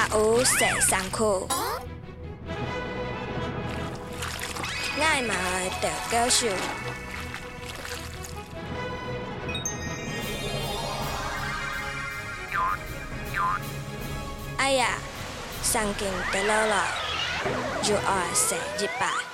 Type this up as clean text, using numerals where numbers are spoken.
有洗衫裤，爱嘛会着教授。哎呀，上镜得了了，就爱洗日吧。